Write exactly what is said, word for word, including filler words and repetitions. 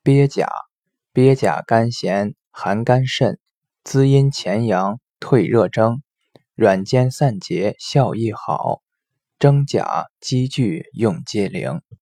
鳖甲，鳖甲甘咸，寒肝肾，滋阴潜阳，退热征，软坚散结，效益好。真假积聚用皆灵。